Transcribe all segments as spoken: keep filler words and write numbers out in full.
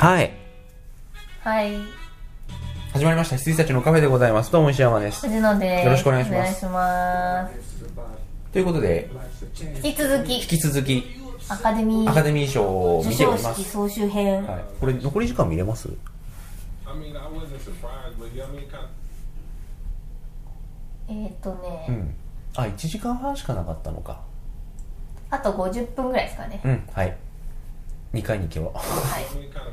はい。 はい。 始まりました。羊たちのカフェでございます。どうも石山です。 藤野です。 よろしくお願いします。 お願いします。 ということで、 引き続き、 引き続き、 アカデミー、 アカデミー賞を見ております。 授賞式総集編。 はい。これ、残り時間見れます？ えーっとね、 うん。あ、いちじかんはんしかなかったのか。 あとごじゅっぷんぐらいですかね。 うん、はい。にかいに行けば。はい。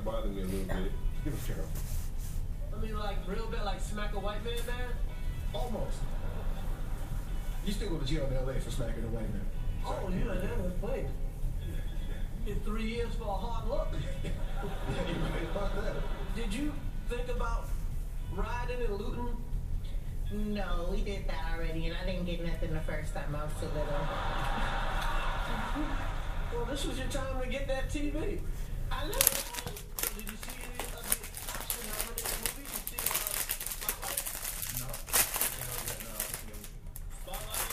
I mean, like, real bad, like, smack a white man, man? Almost. You still go to jail in L A for smacking a white man. Oh, yeah, that was funny. In three years for a hard look. Did you think about riding and looting? No, we did that already, and I didn't get nothing the first time. I was too little. Well, this was your time to get that T V. I know. Did you see any of the Oscar-nominated movies? You see, uh, no. Spotlight?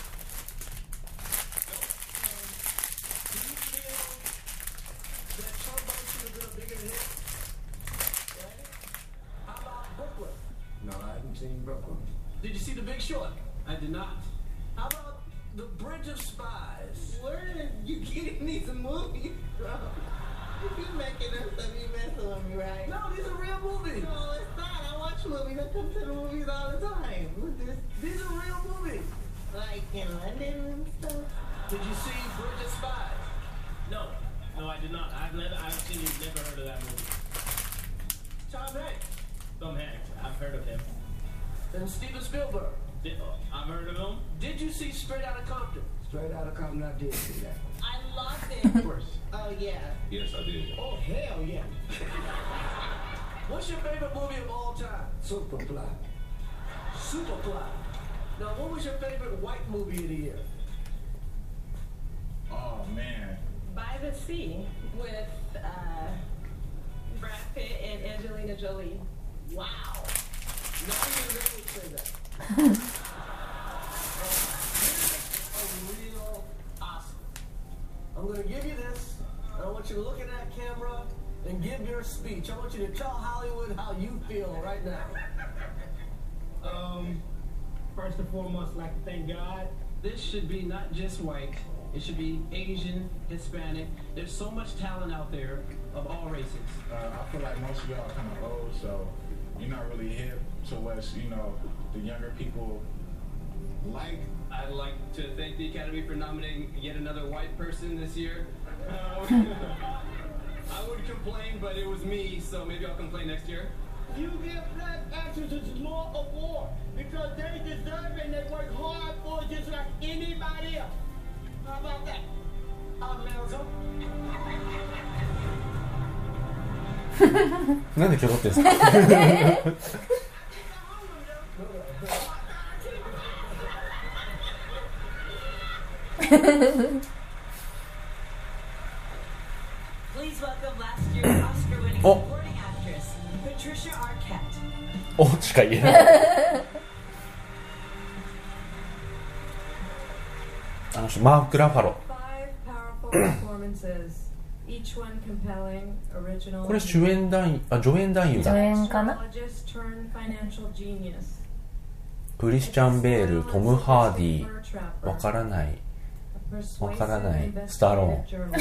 Do you feel that Trombone should have been a bigger hit? Right? How about Brooklyn? No, I haven't seen Brooklyn. Did you see The Big Short? I did not. How about The Bridge of Spies? Where are you getting these movies from? You making up stuff, you messing with me, right? No, these are real movies. No, it's not. I watch movies. I come to the movies all the time. What's this? These are real movies. Like in London and stuff. Did you see Bridge of Spies? No, no, I did not. I've never, I've seen, never heard of that movie. Tom Hanks Tom Hanks, I've heard of him. and Steven Spielberg. Did, oh, I've heard of him. Did you see Straight Outta Compton? Straight Outta Compton, I did see that. I loved it. First. Oh, yeah. Yes, I did. Oh, hell yeah. What's your favorite movie of all time? Superfly. Superfly. Now, what was your favorite white movie of the year? Oh, man. By the Sea with uh, Brad Pitt and Angelina Jolie. Wow. Now you really say that. A real Oscar. I'm going to give you this. I want you to look at that camera and give your speech. I want you to tell Hollywood how you feel right now. Um, first and foremost, I'd like to thank God. This should be not just white. It should be Asian, Hispanic. There's so much talent out there of all races. Uh, I feel like most of y'all are kind of old, so you're not really hip to what, you know, the younger people like. I'd like to thank the Academy for nominating yet another white person this year. Um, I would complain, but it was me, so maybe I'll complain next year. You give black actresses more award because they deserve it and they work hard for it just like anybody else. How about that? I'm Nelson. なんで今日撮ってるんですか？ Please welcome last year's Oscar-winning supporting actress, Patricia Arquette. おしか言えない。あの人マーク・ラファロ。これ主演男優、あ、助演男優だ。 助演かな。 クリスチャン・ベール、トム・ハーディー、わからない。わからない。スタローン。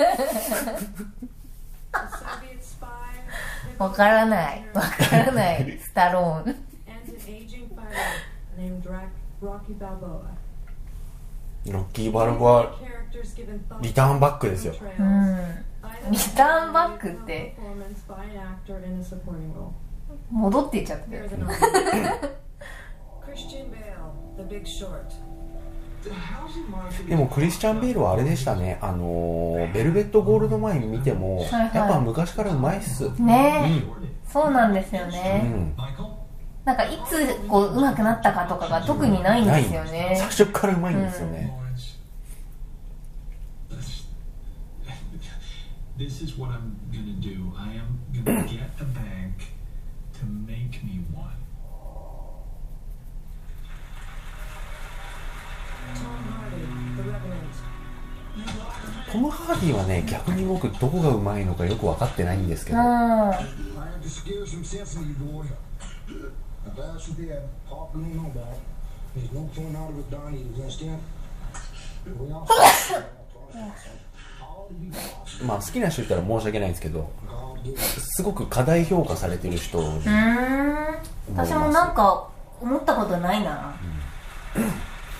わからない。わからない。スタローン。 ロッキー・バルボア、リターンバックですよ。 うん。リターンバックって戻っていっちゃったよ。 でもクリスチャン・ベールはあれでしたね。あのー、ベルベット・ゴールドマイン見ても、はいはい、やっぱ昔からうまいっす。 ねえ、うん、そうなんですよね。うん、なんかいつこう上手くなったかとかが特にないんですよね。 最初からうまいんですよね。 This is what I'm gonna do. I am gonna get a bank to make me one. トム・ム・ハーディはね逆に僕どこがうまいのかよく分かってないんですけど、まあ好きな人いたら申し訳ないんですけど、すごく過大評価されてる人。うーん、私もなんか思ったことないな。うん、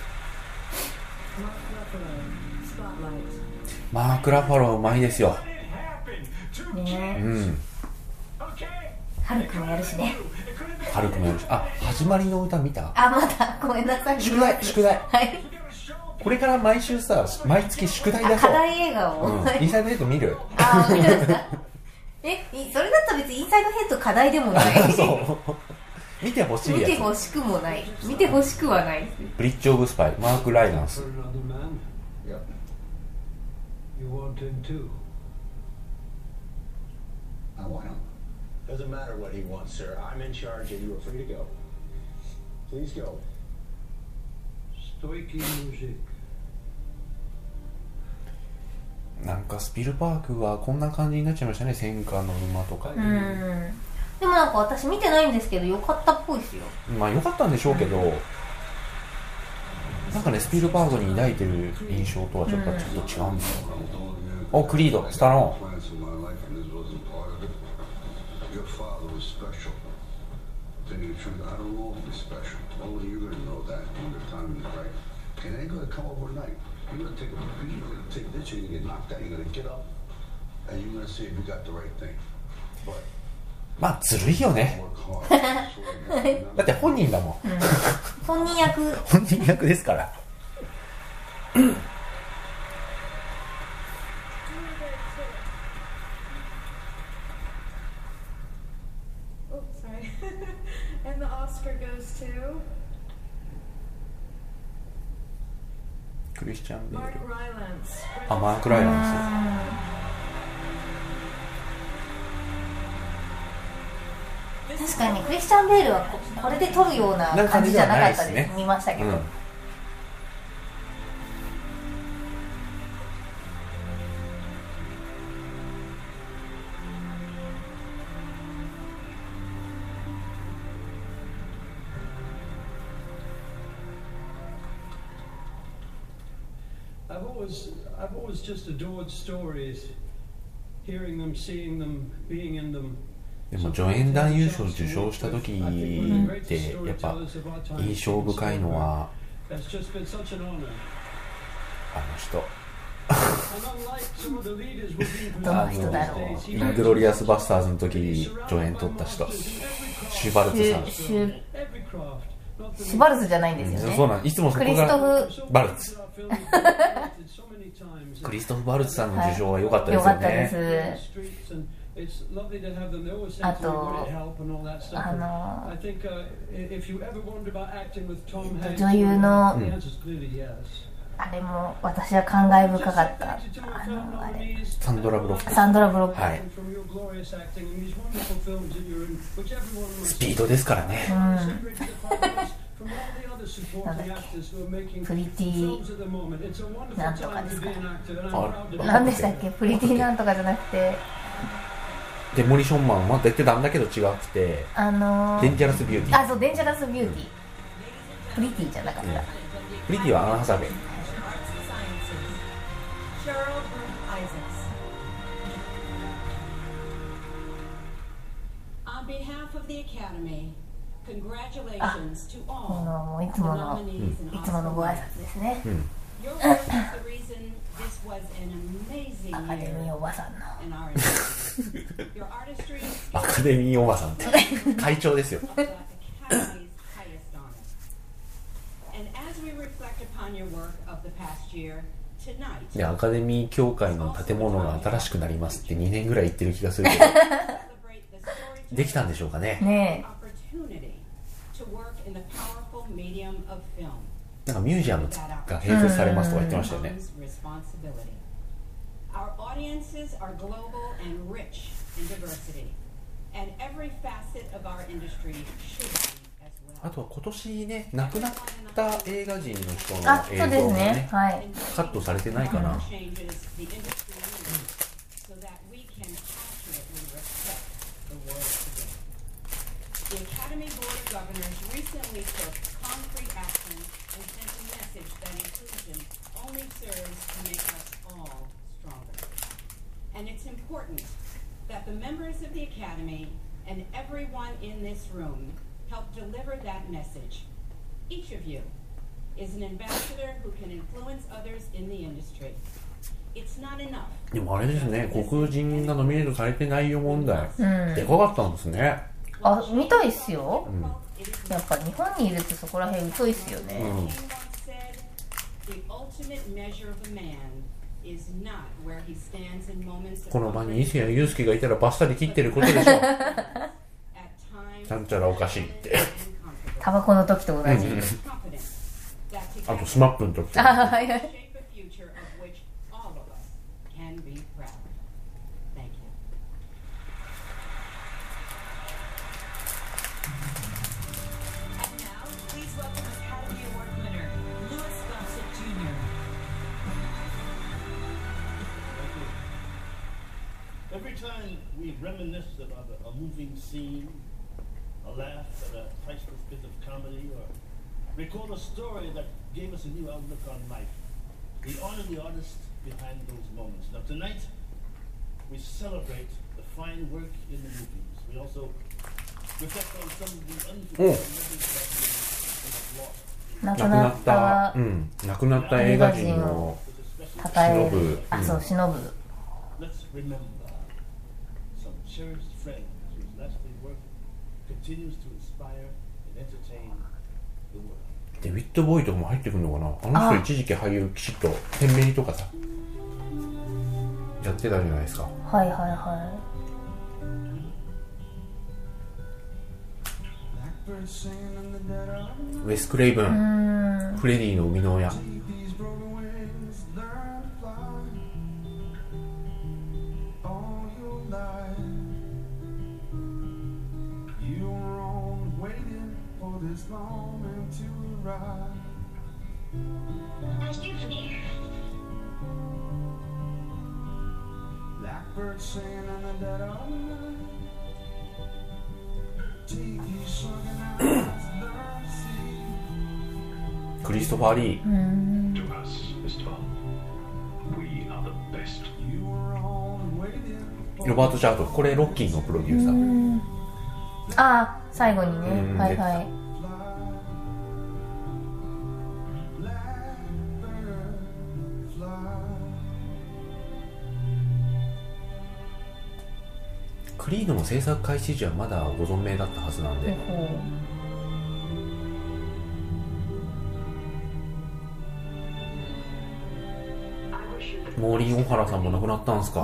マーク・ラファローうまいですよね。 うん。 ハルクもやるしね。 ハルクもやるし、あ、始まりの歌見た？ あ、まだごめんなさい。 宿題宿題。 はい。 これから毎週さ、毎月宿題出そう。 課題映画を。 うん、インサイドヘッド見る？ あ、見るんだ。え、それだったら別にインサイドヘッド課題でもない。 そう。見てほしいやつ。 見てほしくもない。見てほしくはない。 ブリッジ・オブ・スパイ、マーク・ライランス。 You want him too? I want him. Doesn't matter what he wants, sir. I'm in charge and you are free to go. Please go. Stoiky music. なんかスピルバーグはこんな感じになっちゃいましたね、戦艦の馬とか。 うん。でもなんか私見てないんですけど、良かったっぽいですよ。 まあ良かったんでしょうけど、うん、なんかね、スピルバーグに抱いてる印象とはちょっと、うん、ちょっと違うんですよね。お、クリード、スタローン。まあずるいよね。だって本人だもん、うん、 本人役本人役ですから。クリスチャン・ベール、あ、マーク・ライランス。確かにクリスチャン・ベールは こ, これで撮るような感じじゃなかったです、ね、見ましたけど、うん、 I've always, I've always just adored stories, hearing them, seeing them, being in them. でも助演男優賞を受賞した時ってやっぱ印象深いのはあの人どの人だろう。 イングロリアスバスターズの時助演取った人、シュバルツさん。 シュシュバルツじゃないんですよね。 そうなん、いつもそこがクリストフバルツクリストフ・バルツさんの受賞は良かったですよね。 良かったです。あと、あの女優の、うん、あれも私は感慨深かった。あのあれサンドラ・ブロック。 サンドラ・ブロック。 はい。スピードですからね。うん。 なんだっけ、プリティなんとかですから。何でしたっけ、プリティなんとかじゃなくて。 デモリションマンは出てたんだけど違くて、 あのー、 デンジャラスビューティー。 あ、そう、デンジャラスビューティー、うん、プリティじゃなかった、うん、 プリティはアン・ハサウェイ。あ、このもういつもの、うん、いつものご挨拶ですね、うん、アカデミーおばさんのアカデミーおばさんって会長ですよ。いや、アカデミー協会の建物が新しくなりますってにねんぐらい言ってる気がするけどできたんでしょうかね。ねえ、なんかミュージアムが併設されますとか言ってましたよね。 あとは今年ね亡くなった映画人の人の映像あ、そうですもねね、はい、 カットされてないかな、うん、 The Academy Board of Governors recently took concrete action and sent a message that inclusion only serves to make us all stronger. And it's important that the members of the Academy and everyone in this room help deliver that message. Each of you is an ambassador who can influence others in the industry. It's not enough. でもあれですね、黒人がノミネートされてないよ問題、うん、でかかったんですね。 あ、見たいっすよ、 うん、 やっぱ日本にいるとそこら辺疎いっすよね、うん、 この場に伊勢谷友介がいたらバッサリ切ってることでしょちゃんちゃらおかしいってタバコの時と同じ、うん、 あとスマップの時とあ、はいはい。 Every time we reminisce about a, a moving scene, a laugh at a priceless bit of comedy, or recall a story that gave us a new outlook on life, we honor the artist behind those moments. Now tonight, we celebrate the fine work in the movies. We also reflect on some of the unforgettable memories that we have lost. 亡くなった、 うん、亡くなった映画人を称える、あ、そう、偲ぶ。 Let's remember some cherished friends whose lasting work continues to inspire and entertain the world. デビッド・ボーイとかも入ってくるのかな。あの人一時期俳優きちっと天命とかさやってたじゃないですか。 はいはいはい。 ウェス・クレイブン、フレディの生みの親。クリストファー・リー、ロバート・チャート、これロッキーのプロデューサー。 ああ、最後にね、はいはい。 クリードの制作開始時はまだご存命だったはずなんで、モーリー・オハラさんも亡くなったんですか。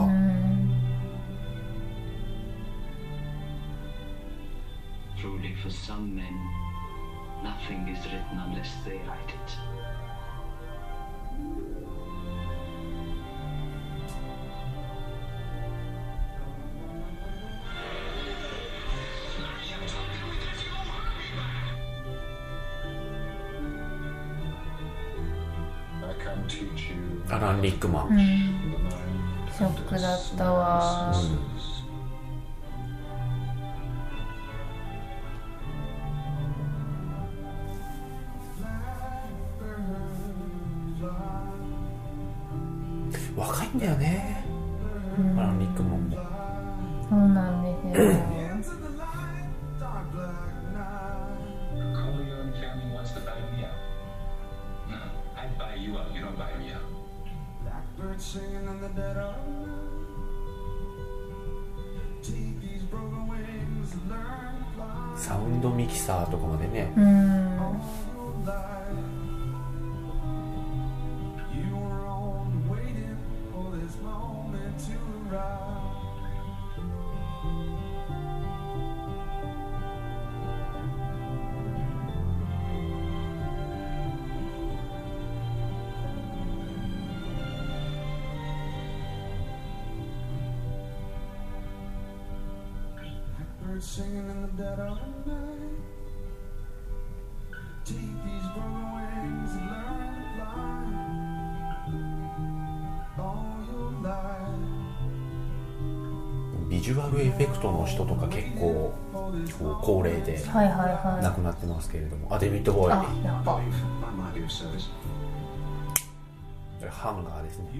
Truly for some men, nothing is written unless they write it. I can teach you. アラン・リックマン、 うん、ショックだったわ、うん若いんだよね、うん、アラン・リックマンも。 そうなんですよ。 サウンドミキサーとかまでね、 うん、 Singing in the dead of night. ビジュアルエフェクトの人とか結構高齢で亡くなってますけれども、あ、デビッド・ボーイ、 あ、やっぱハンガーですね。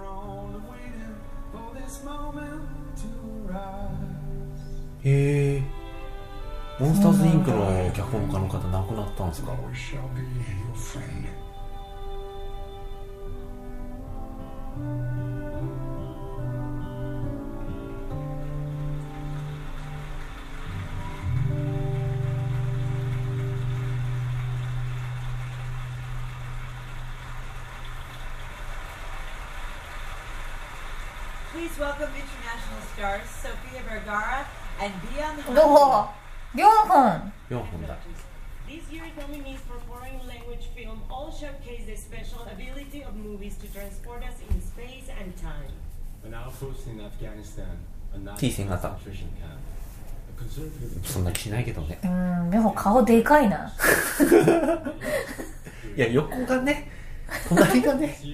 へえ、モンスターズインクの脚本家の方亡くなったんですか。 Please welcome international stars Sofia Vergara and Byung Hun. どう？よんほん。 よんほんだ。 This year's nominees for foreign language film all showcase the special ability of movies to transport us in space and time. An outpost in Afghanistan, a T 線型。 concentration camp, a conservative そんな気しないけどね。 うん、でも顔でかいな。 いや、横がね、隣がね。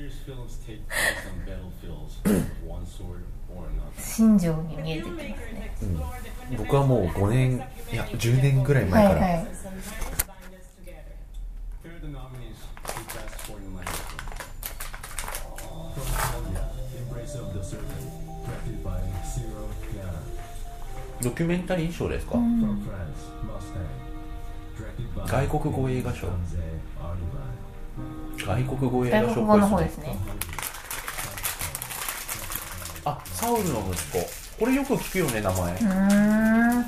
新庄に見えてきますね。 うん、僕はもうごねん、いやじゅうねんぐらい前から、はいはい、ドキュメンタリー賞ですか、うん、外国語映画賞、外国語映画賞っぽいですね。 外国語の方ですね。 あ、サウルの息子、これよく聞くよね、名前。うーん。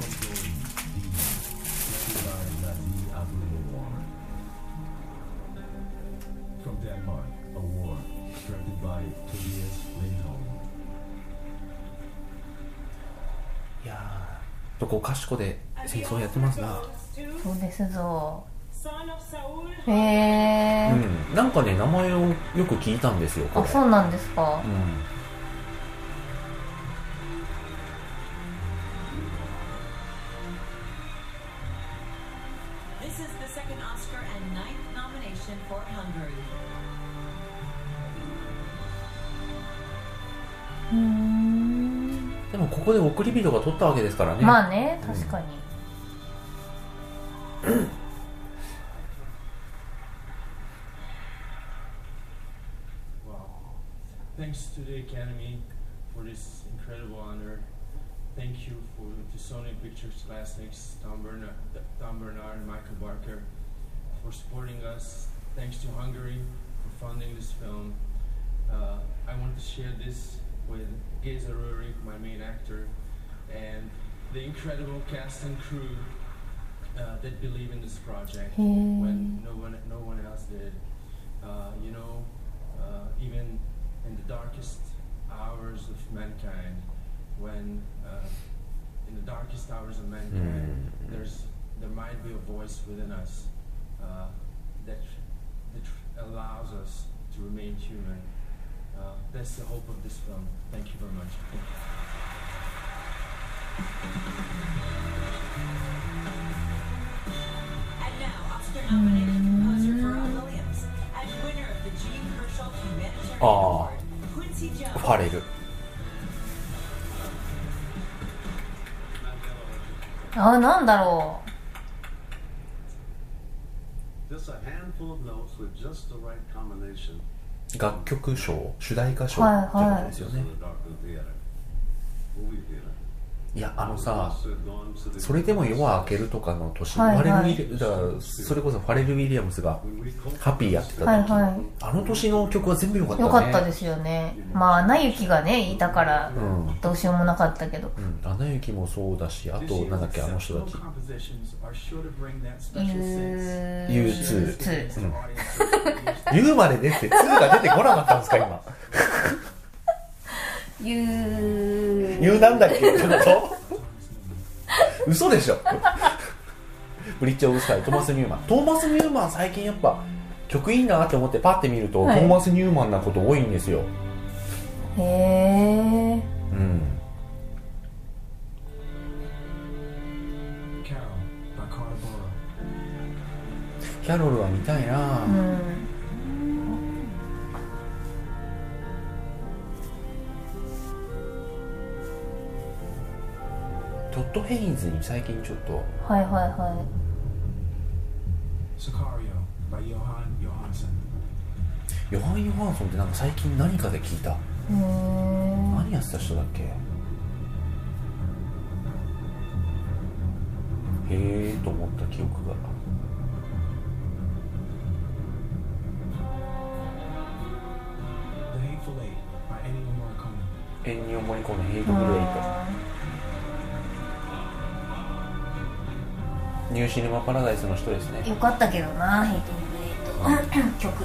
いやー、どこかしこで戦争やってますな。 そうですぞ。へえ、 うん、なんかね、名前をよく聞いたんですよ。 あ、そうなんですか。 うん。 うーん、 でもここで送り人が取ったわけですからね。 まあね、確かに。 うん、 Thanks to the Academy for this incredible honor. Thank you for to Sony Pictures Classics, Tom Bernard, Tom Bernard and Michael Barker for supporting us. Thanks to Hungary for funding this film. Uh, I want to share this with Geza Rurik, my main actor, and the incredible cast and crew uh, that believe in this project when no one, no one else did. Uh, you know, uh, even in the darkest hours of mankind, when uh, in the darkest hours of mankind, mm. there's there might be a voice within us uh, that that allows us to remain human. Uh, that's the hope of this film. Thank you very much. Thank you. And now, Oscar-nominated composer Pharrell Williams and winner of the Jean Hersholt Humanitarian Award, Quincy Jones. ファレル。 あ、なんだろう。楽曲賞、主題歌賞ってことですよね。いや、あのさ、それでも夜は明けるとかの年、はいはい、ファレルウィリだからそれこそファレル・ウィリアムスがハッピーやってた時、はいはい、あの年の曲は全部良かったね。 良かったですよね。まあアナ雪がねいたからどうしようもなかったけど、 うん、アナ雪もそうだし、あとなんだっけ、あの人たち ユーツー、ユーまで出てツーが出てこなかったんですか今。 ユーユーなんだっけってこと嘘でしょ。ブリッジオブスカイ、トーマス・ニューマン。トーマス・ニューマン最近やっぱ曲いいなって思ってパッて見ると、はい、トーマス・ニューマンなこと多いんですよ。 へえ。 うん。 キャロルは見たいな、 うん、 トッド・ヘインズに最近ちょっとはいはいはい。 Sicario by Johan Johansson。 ヨハン・ヨハンソンってなんか最近何かで聞いた。 うーん、 何やってた人だっけ。へえーと思った記憶が。 The Hateful Eight by Ennio Morricone。 エンニオ・モリコーネ、ヘイト・グレイト。ニューシネマ・パラダイスの人ですね。 よかったけどな、ヘイト・グレイト曲。うん、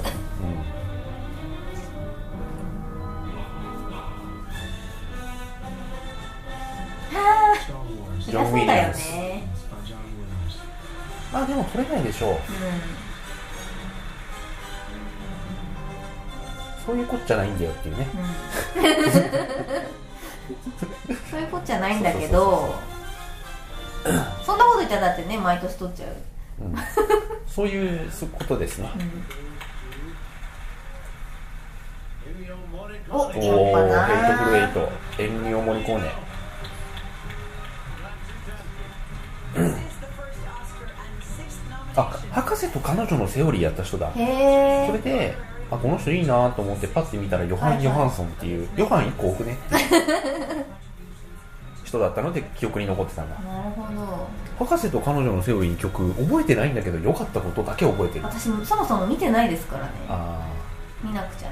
ジョン・ウィリアムス。 ね、 まあでも取れないでしょう、うん、そういうこっちゃないんだよっていうね、 うん、そういうこっちゃないんだけど、そんなこと言ったらだってね、毎年取っちゃう、うん、 そういうことですね、 うん、お、 おー、ヘイト・グレイト、エンニオ・モリコーネ。あ、博士と彼女のセオリーやった人だ。 へー。 それで、あ、この人いいなと思ってパッて見たらヨハン・ヨハンソンっていう、はいはい、ヨハンいっこ多くねって人だったので記憶に残ってたんだ。 なるほど。 博士と彼女のセオリー曲覚えてないんだけど良かったことだけ覚えてる。 私もそもそも見てないですからね。 あ、 見なくちゃな。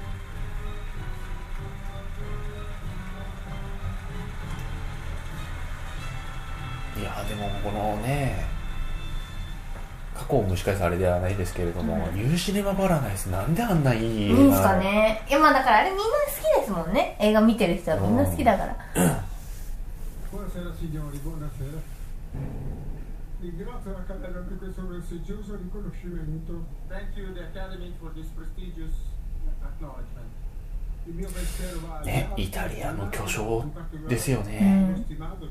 いやでもこのね、過去を蒸し返すあれではないですけれども、うん、ニューシネマ・パラダイスなんであんないい映画いいんすかね。いや、まあだからあれみんな好きですもんね。映画見てる人はみんな好きだから。 Buonasera signori, buonasera. Ringrazio l'Accademia per questo prestigioso riconoscimento. Thank you the Academy for this prestigious acknowledgement. ね、イタリアの巨匠ですよね。 うん、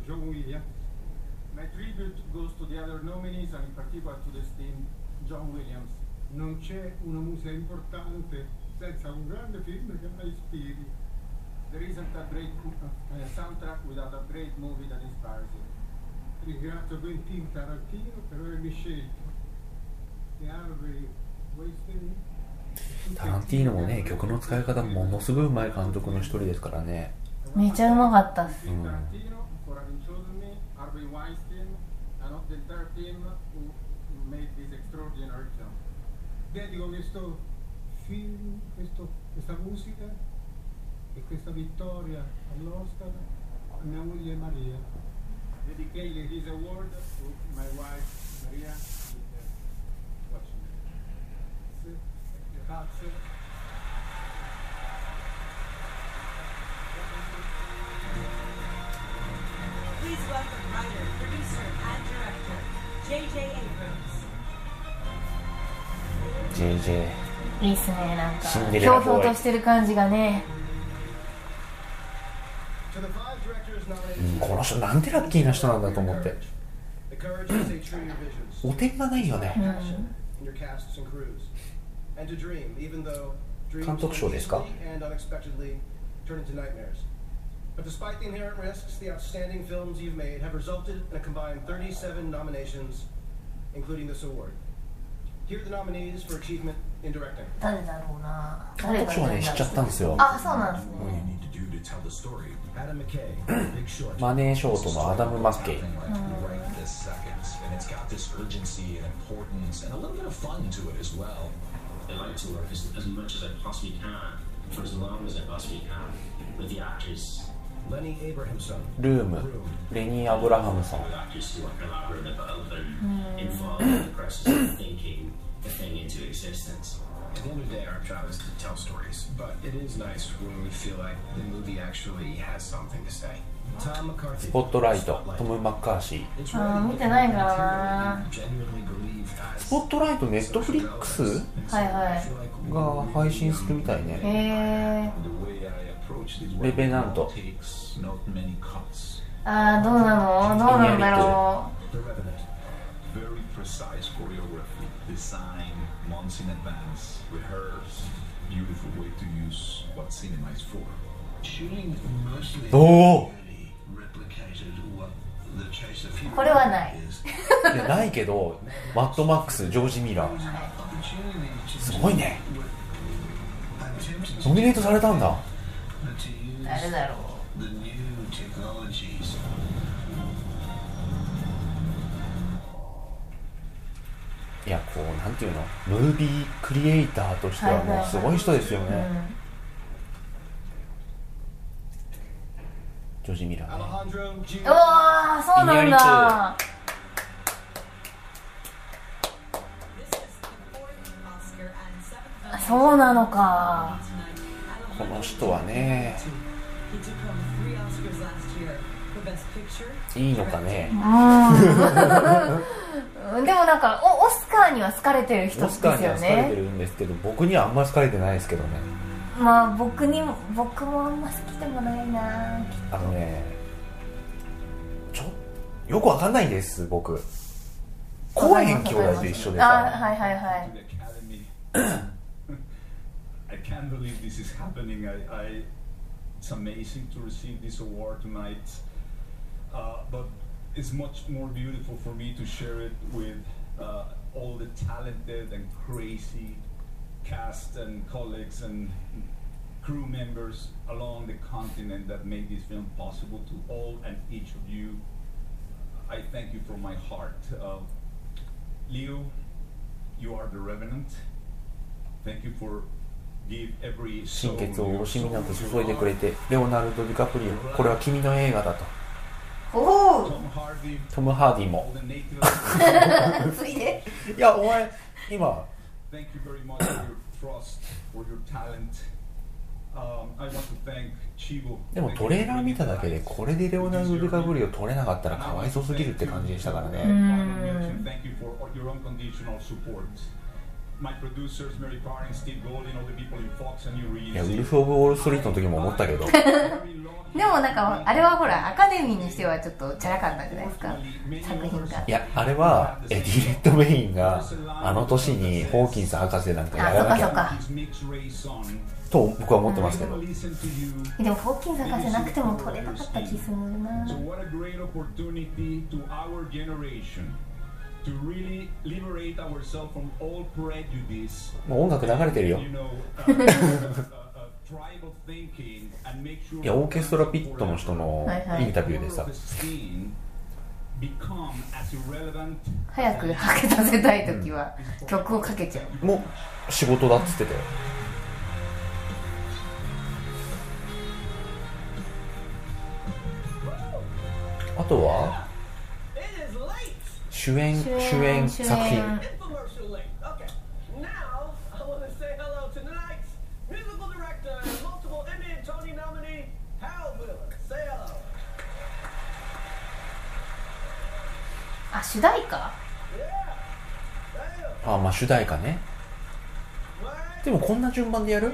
My tribute goes to the other nominees and in particular to the esteemed John Williams. Non c'è una musica importante senza un grande film che la ispiri. There isn't a great uh, soundtrack without a great movie that inspires it. Ringrazio Quentin Tarantino per avermi scelto. E Harvey Weinstein. タランティーノもね、曲の使い方ものすごいうまい監督の一人ですからね。 めちゃうまかったっす。うん、 Harvey Weinstein and of the entire team who made this extraordinary film. Dedico questo film, questo, questa musica e questa vittoria all'Oscar a mia moglie Maria. Dedicate this award to my wife Maria, who is watching. Grazie. Please welcome writer, producer, and director, J J Abrams. ジェイジェイいいっすね、なんかひょうひょうとしてる感じがね。 うん、この人なんてラッキーな人なんだと思って。お点がないよね。うん、監督賞ですか。 But despite the inherent risks, the outstanding films you've made have resulted in a combined thirty-seven nominations, including this award. Here are the nominees for achievement in directing. 誰だろうな。 監督賞はね、知っちゃったんですよ。 あ、そうなんですね。 Adam McKay, Big Short. マネーショートのアダム・マッケイ。 Lenny Abrahamson. ルーム、レニー・アブラハムソン。 At the end of the day, our job is to tell stories, but it is nice when we feel like the movie actually has something to say. Tom McCarthy. スポットライト、トム・マッカーシー。あー、見てないからな。 スポットライト、ネットフリックスはいはいが配信するみたいね。 へー。レベナント。 あー、どうなの？どうなんだろう。 very precise choreography, designed months in advance, rehearsed, beautiful way to use what cinema is for. Shooting mostly Oh. replicated what the chase of future これはない。 いやないけど、マッドマックス、ジョージ・ミラー、すごいね。ノミネートされたんだ。 誰だろう。 the new technologies. いや、こうなんていうの、ムービークリエイターとしてはもうすごい人ですよね。はいはいはい、うん、ジョージ・ミラーね。 おー、そうなんだ。そうなのか。 この人はね、いいのかね。 うん、でもなんか オ, オスカーには好かれてる人ですよね。オスカーには好かれてるんですけど、僕にはあんまり好かれてないですけどね。 まあ僕にも、僕もあんま好きでもないな。 あのね、ちょよくわかんないんです僕。コーエン兄弟と一緒でさ。 あ、はいはいはい。 I can't believe this is happening. I, I, it's amazing to receive this award tonight, uh, but it's much more beautiful for me to share it with uh, all the talented and crazy cast and colleagues and crew members along the continent that made this film possible. To all and each of you, I thank you from my heart. Uh, Leo, you are the Revenant. Thank you for 心血を惜しみなく注いでくれて、レオナルド・ディカプリオ、これは君の映画だと。 おトム・ハーディもついでいや、お前今でもトレーラー見ただけでこれでレオナルド・ディカプリオ取れなかったらかわいそうすぎるって感じでしたからね。いや、ウルフ・オブ・ウォール・ストリートの時も思ったけどでもなんかあれはほらアカデミーにしてはちょっとチャラかったじゃないですか、作品が。 いや、あれはエディ・レッドメインがあの年にホーキンス博士なんかやらなきゃと僕は思ってますけど。 でもホーキンス博士なくても取れなかった気するな。 もう音楽流れてるよいや、オーケストラピットの人のインタビューでさ、 早くはけさせたいときは曲をかけちゃう。 もう仕事だっつってたよ。あとは主演、主演作品。 あ、主題歌？ あ、まあ主題歌ね。でもこんな順番でやる？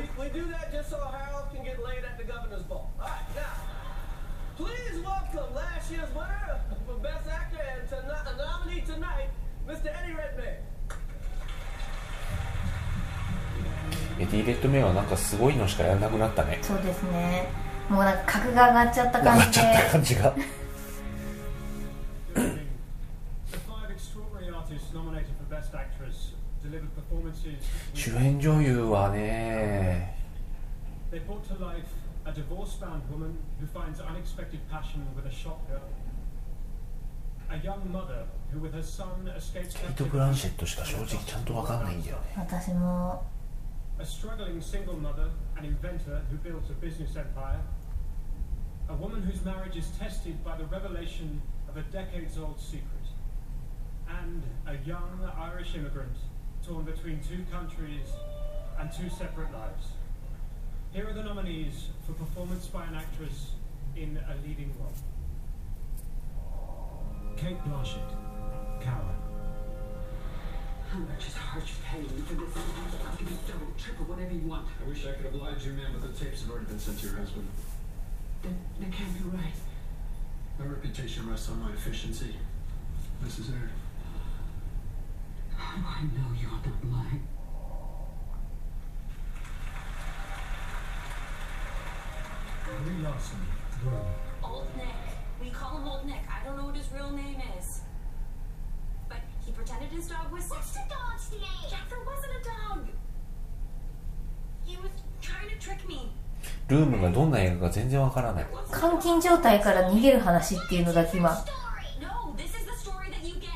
エディ・レッドメインはなんかすごいのしかやらなくなったね。 そうですね。もうなんか格が上がっちゃった感じで。 上がっちゃった感じが。主演女優はね。ケイト・ブランシェットしか正直ちゃんと分かんないんだよね。 私も。 A struggling single mother, an inventor who built a business empire, a woman whose marriage is tested by the revelation of a decades-old secret, and a young Irish immigrant torn between two countries and two separate lives. Here are the nominees for performance by an actress in a leading role. Kate Blanchett, Cara. How much is Arch paying for this? I'll give you double, triple, whatever you want. I wish I could oblige you, ma'am, but the tapes have already been sent to your husband. That, that can't be right. My reputation rests on my efficiency. This is her. I know you're not lying. Brie Larson, Room. Old Nick. We call him Old Nick. I don't know what his real name is. But he pretended his dog was... What's the dog's name? Jack, there wasn't a dog. He was trying to trick me. ルームがどんな映画か全然わからない。 監禁状態から逃げる話っていうのだけ今。 No, this is the story that you get.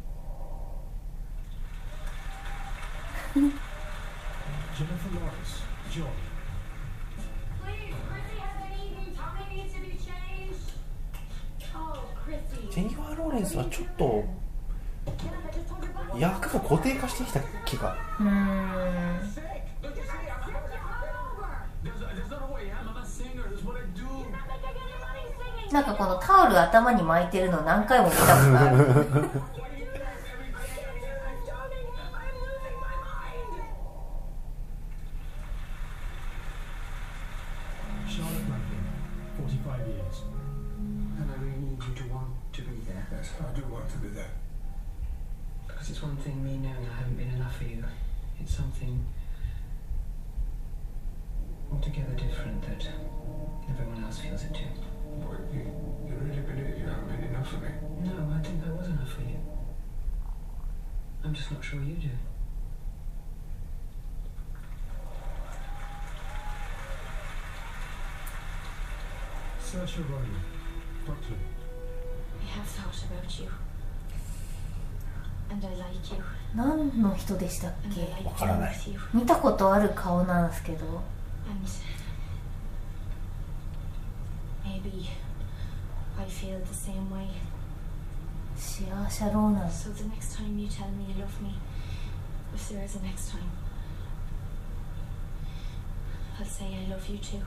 Jennifer Lawrence, Joy. Please, Chrissy has an eaten tummy needs to be changed. Oh, Chrissy. ジェニファー・ローレンスはちょっと役が固定化してきた気が。 うーん。なんかこのタオル頭に巻いてるの何回も見たことある。 Charlotte Rampling, forty-five years. And I really need you to want to be there. Yes, I do want to be there. Because it's one thing me knowing I haven't been enough for you. It's something altogether different that everyone else feels it too. Boy, you, you really believe you haven't been enough for me? No, I think I was enough for you. I'm just not sure you do. Saoirse Ronan, Doctor. I have thought about you. And I like you. 何の人でしたっけ？ わからない。 見たことある顔なんですけど。 And maybe I feel the same way. シアーシャローナン。 So the next time you tell me you love me, if there is a next time, I'll say I love you too.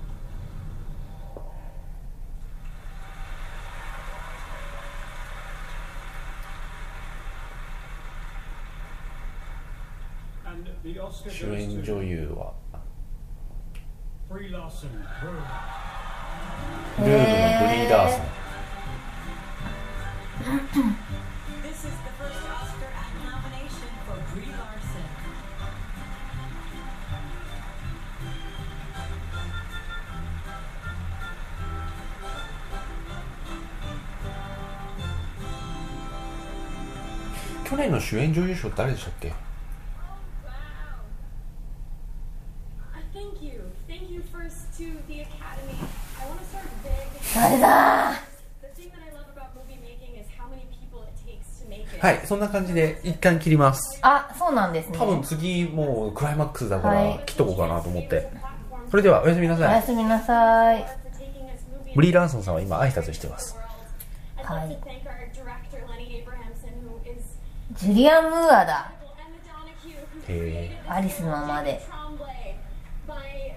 And the Oscar 主 goes 演 to 女優は Brie Larson, Room. ルームのブリー・ラーソン。 This is the first Oscar nomination for Brie Larson. 去年の主演女優賞誰でしたっけ？ Thank you. Thank you first to the Academy. I want to start big. 誰だ The thing that I love about movie making is how many people it takes to make it. はい、そんな感じで一旦切ります。 あ、そうなんですね。 多分次もうクライマックスだかはいら切っとこうかなと思って。それではおやすみなおさい。 やすみなさい。 ブリー・ラーソンさんは今挨拶してます。 はい Thank our director Lenny Abrahamson, who is ジュリアン・ムーアだ。 へアリスのままで。 Tremblay, my